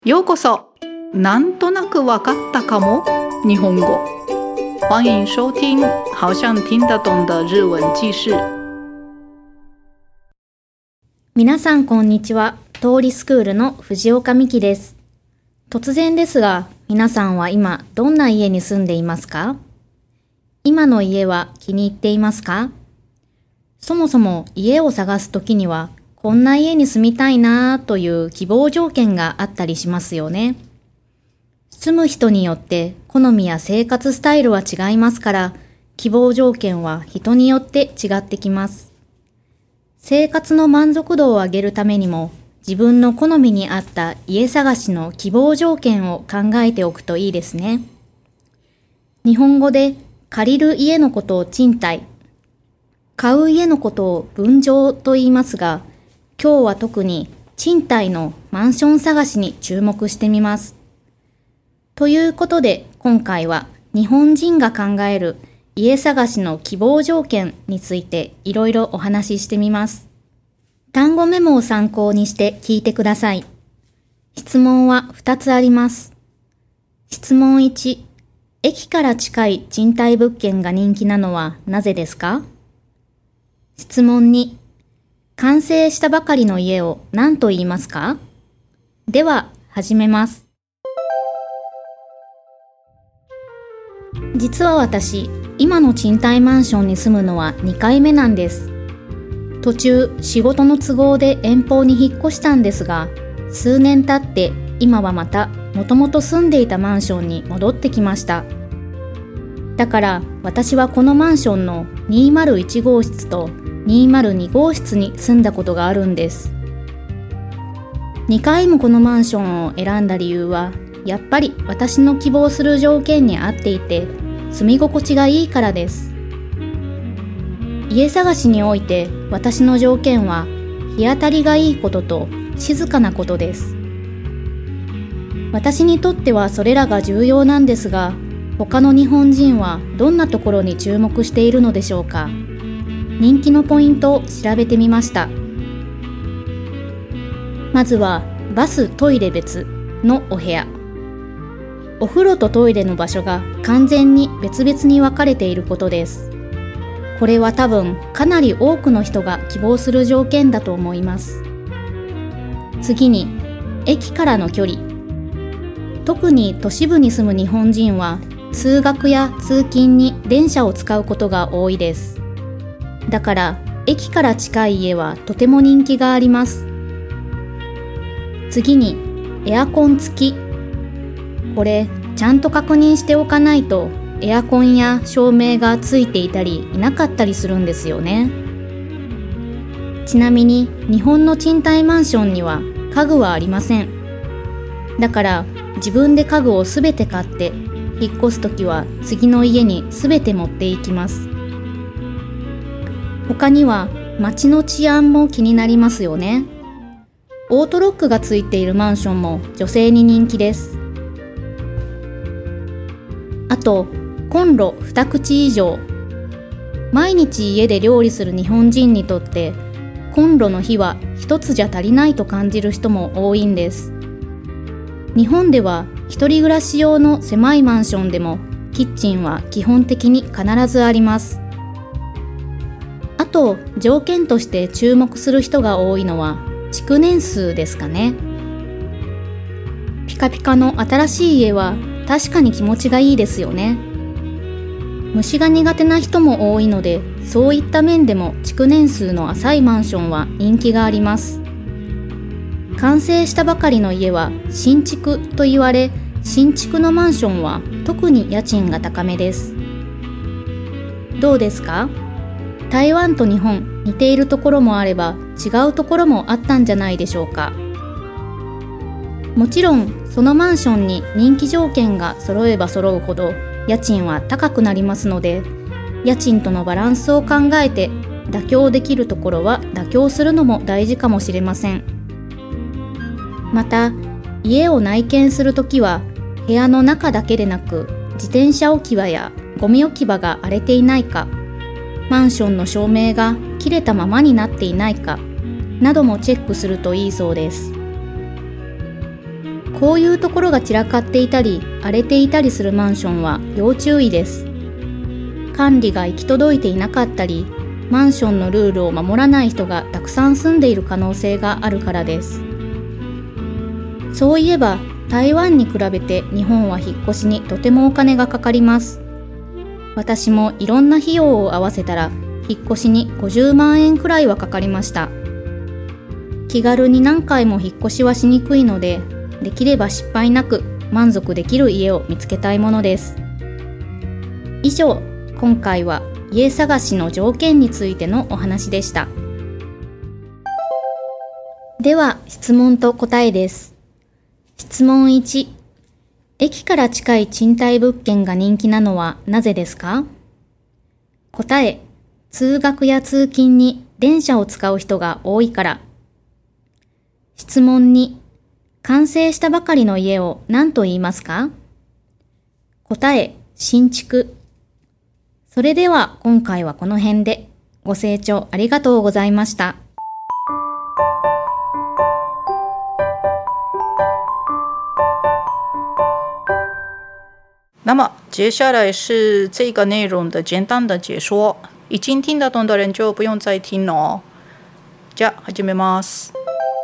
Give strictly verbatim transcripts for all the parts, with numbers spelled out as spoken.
ようこそ。なんとなくわかったかも日本語。欢迎收听好像听得懂的日文記事。 皆さんこんにちは。通りスクールの藤岡美希です。突然ですが、皆さんは今どんな家に住んでいますか？今の家は気に入っていますか？そもそも家を探すときには、こんな家に住みたいなという希望条件があったりしますよね。住む人によって好みや生活スタイルは違いますから、希望条件は人によって違ってきます。生活の満足度を上げるためにも、自分の好みに合った家探しの希望条件を考えておくといいですね。日本語で借りる家のことを賃貸、買う家のことを分譲と言いますが、今日は特に賃貸のマンション探しに注目してみます。ということで今回は日本人が考える家探しの希望条件についていろいろお話ししてみます。単語メモを参考にして聞いてください。質問はふたつあります。質問いち、駅から近い賃貸物件が人気なのはなぜですか？質問に、完成したばかりの家を何と言いますか？では始めます。実は私、今の賃貸マンションに住むのはにかいめなんです。途中、仕事の都合で遠方に引っ越したんですが、数年経って今はまたもともと住んでいたマンションに戻ってきました。だから私はこのマンションのにひゃくいちごうしつとにひゃくにごうしつに住んだことがあるんです。にかいもこのマンションを選んだ理由は、やっぱり私の希望する条件に合っていて、住み心地がいいからです。家探しにおいて私の条件は、日当たりがいいことと静かなことです。私にとってはそれらが重要なんですが、他の日本人はどんなところに注目しているのでしょうか。人気のポイントを調べてみました。まずはバス・トイレ別のお部屋。お風呂とトイレの場所が完全に別々に分かれていることです。これは多分かなり多くの人が希望する条件だと思います。次に、駅からの距離。特に都市部に住む日本人は通学や通勤に電車を使うことが多いです。だから駅から近い家はとても人気があります。次にエアコン付き。これちゃんと確認しておかないとエアコンや照明がついていたりいなかったりするんですよね。ちなみに日本の賃貸マンションには家具はありません。だから自分で家具をすべて買って引っ越すときは次の家にすべて持っていきます。他には街の治安も気になりますよね。オートロックがついているマンションも女性に人気です。あと、コンロにくち以上。毎日家で料理する日本人にとってコンロの火は一つじゃ足りないと感じる人も多いんです。日本では一人暮らし用の狭いマンションでもキッチンは基本的に必ずあります。あと条件として注目する人が多いのは築年数ですかね。ピカピカの新しい家は確かに気持ちがいいですよね。虫が苦手な人も多いので、そういった面でも築年数の浅いマンションは人気があります。完成したばかりの家は新築と言われ、新築のマンションは特に家賃が高めです。どうですか？台湾と日本、似ているところもあれば違うところもあったんじゃないでしょうか。もちろんそのマンションに人気条件が揃えば揃うほど家賃は高くなりますので、家賃とのバランスを考えて妥協できるところは妥協するのも大事かもしれません。また、家を内見するときは部屋の中だけでなく、自転車置き場やゴミ置き場が荒れていないか、マンションの照明が切れたままになっていないかなどもチェックするといいそうです。 こういうところが散らかっていたり荒れていたりするマンションは要注意です。管理が行き届いていなかったり、マンションのルールを守らない人がたくさん住んでいる可能性があるからです。そういえば台湾に比べて日本は引っ越しにとてもお金がかかります。私もいろんな費用を合わせたら引っ越しにごじゅうまんえんくらいはかかりました。気軽に何回も引っ越しはしにくいので、できれば失敗なく満足できる家を見つけたいものです。以上、今回は家探しの条件についてのお話でした。では質問と答えです。質問いち、駅から近い賃貸物件が人気なのはなぜですか？答え、通学や通勤に電車を使う人が多いから。質問に、完成したばかりの家を何と言いますか？答え、新築。それでは今回はこの辺で。ご清聴ありがとうございました。 那么接下来是这个内容的简单的解说，已经听得懂的人就不用再听了哦。じゃあ始めます。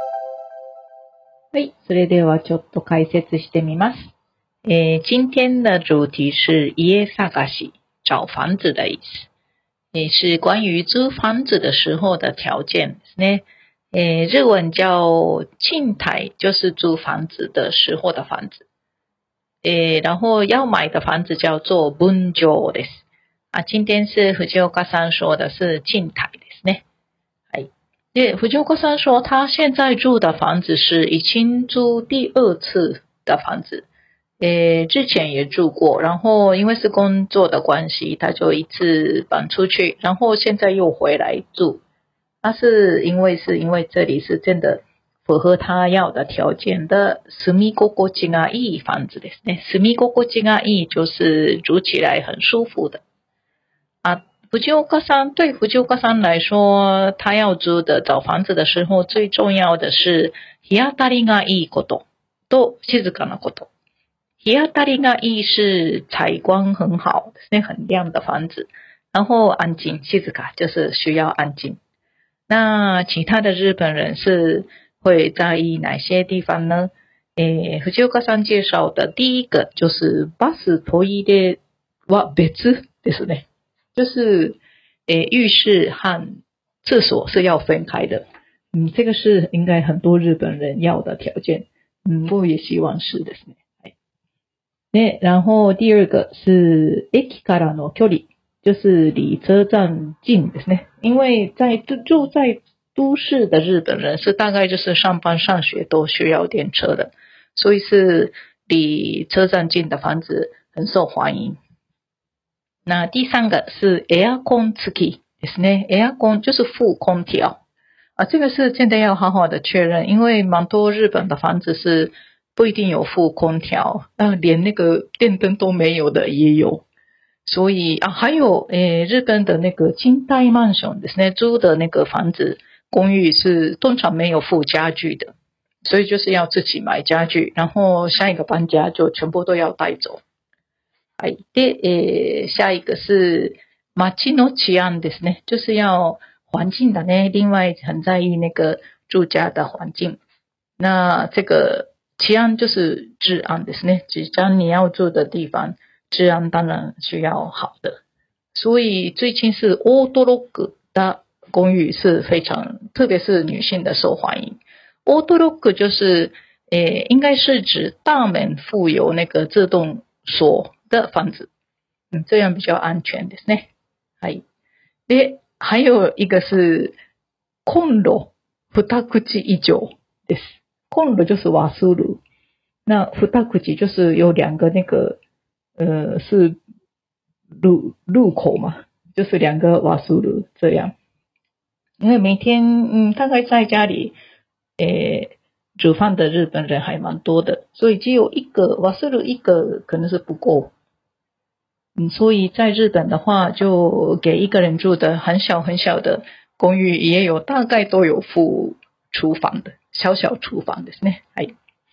はい、それではちょっと解説してみます。えー、今天的主题是家探し，找房子的意思，也是关于租房子的时候的条件ですね。えー、日文叫賃貸，就是租房子的时候的房子。诶，然后要买的房子叫做分譲です。啊，今天是藤岡さん说的是賃貸ですね。はい。で、藤岡さん说他现在住的房子是已经租第二次的房子。诶，之前也住过，然后因为是工作的关系，他就一次搬出去，然后现在又回来住。那是因为是因为这里是真的符合他要的条件的住み心地がいい房子ですね。住み心地がいい就是住起来很舒服的。啊，藤岡さん对藤岡さん来说，他要租的找房子的时候，最重要的是日当たりがいいことと静かなこと。日当たりがいい是采光很好ですね，很亮的房子。然后安静，静か就是需要安静。那其他的日本人是会在意哪些地方呢？诶，藤岡さん介绍的第一个就是バストイレは別ですね，就是诶浴室和厕所是要分开的。嗯，这个是应该很多日本人要的条件。嗯，我也希望是ですね。对，然后第二个是駅からの距離，就是离车站近ですね。因为在住在都市的日本人是大概就是上班上学都需要电车的，所以是离车站近的房子很受欢迎。那第三个是エアコン付きですね，エアコン就是附空调啊，这个是真的要好好的确认，因为蛮多日本的房子是不一定有附空调，那连那个电灯都没有的也有。所以啊，还有诶，日本的那个賃貸マンションですね，租的那个房子公寓是通常没有附家具的，所以就是要自己买家具，然后下一个搬家就全部都要带走。はい。で、えー、下一个是街の治安ですね，就是要环境的呢，另外很在意那个住家的环境。那这个治安就是治安ですね，只要你要住的地方治安当然需要好的。所以最近是オートロック的公寓是非常，特别是女性的受欢迎。オートロック就是诶，应该是指大门附有那个自动锁的房子，嗯，这样比较安全ですね。はい。で、还有一个是コンロ二口以上です。コンロ就是瓦斯炉，那二口就是有两个那个呃是入入口嘛，就是两个瓦斯炉这样。因为每天嗯大概在家里诶煮饭的日本人还蛮多的，所以只有一个瓦斯炉一个可能是不够。嗯，所以在日本的话，就给一个人住的很小很小的公寓，也有大概都有附厨房的小小厨房ですね。はい。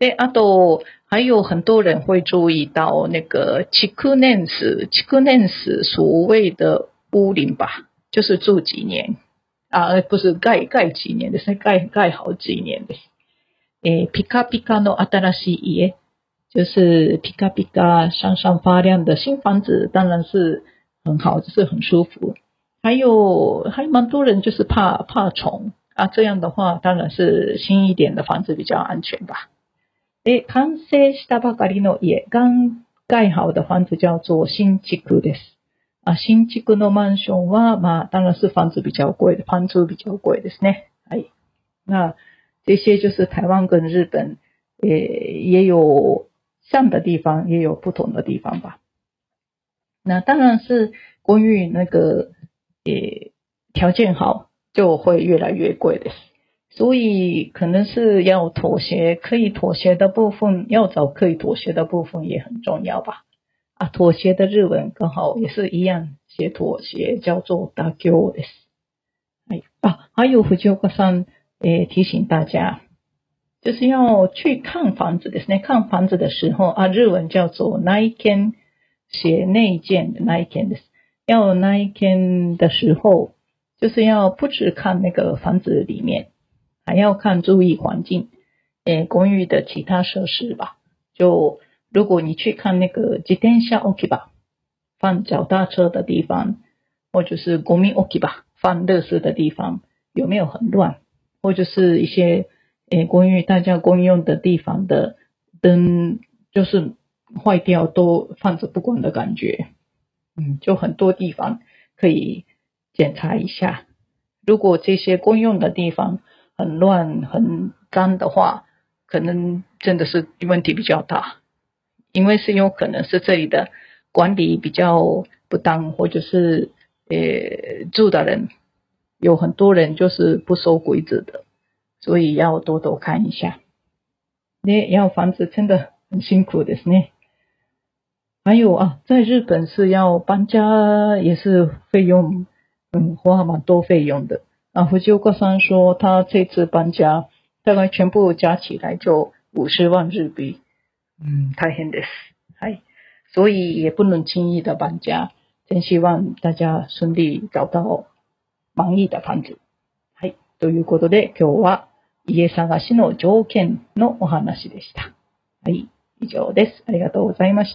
で、あと还有很多人会注意到那个築年数，築年数所谓的屋龄吧，就是住几年啊，不是盖盖几年ですね，盖盖好几年です。诶，ピカピカの新しい家，就是ピカピカ闪闪发亮的新房子，当然是很好，就是很舒服。还有还蛮多人就是怕怕虫啊，这样的话当然是新一点的房子比较安全吧。で、完成したばかりの家、刚盖好的房子叫做新築です。啊，新築のマンションは、まあ、当然是房子比较贵的，房租比较贵ですね。はい。那这些就是台湾跟日本，也也有像的地方，也有不同的地方吧。那当然是公寓那个，也条件好，就会越来越贵的。所以可能是要妥协，可以妥协的部分，要找可以妥协的部分也很重要吧。啊，妥协的日文刚好也是一样，写妥协叫做妥協です。はい。啊，还有藤岡さん。诶，提醒大家，就是要去看房子ですね。看房子的时候啊，日文叫做内見，写内見的内見です。要内見的时候，就是要不只看那个房子里面，还要看注意环境，诶，公寓的其他设施吧。就如果你去看那个自転車置き場，放脚踏车的地方，或者是ゴミ置き場，放垃圾的地方，有没有很乱？或者是一些诶公寓大家公用的地方的灯就是坏掉都放着不管的感觉，嗯，就很多地方可以检查一下。如果这些公用的地方很乱很脏的话，可能真的是问题比较大，因为是有可能是这里的管理比较不当，或者是诶住的人。有很多人就是不守规则的，所以要多多看一下。ね、要房子真的很辛苦ですね。还有啊，在日本是要搬家也是费用，嗯，花蛮多费用的。啊，藤岡さん说他这次搬家大概全部加起来就五十万日币，嗯，大変です。はい，所以也不能轻易的搬家。真希望大家顺利找到満意な房子。はい。ということで、今日は家探しの条件のお話でした。はい。以上です。ありがとうございました。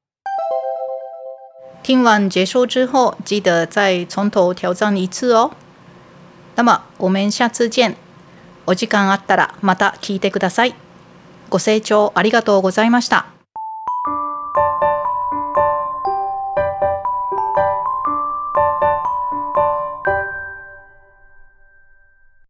听完结束之后，记得再从头挑战一次哦。那么，我们下次见。お時間あったらまた聞いてください。ご清聴ありがとうございました。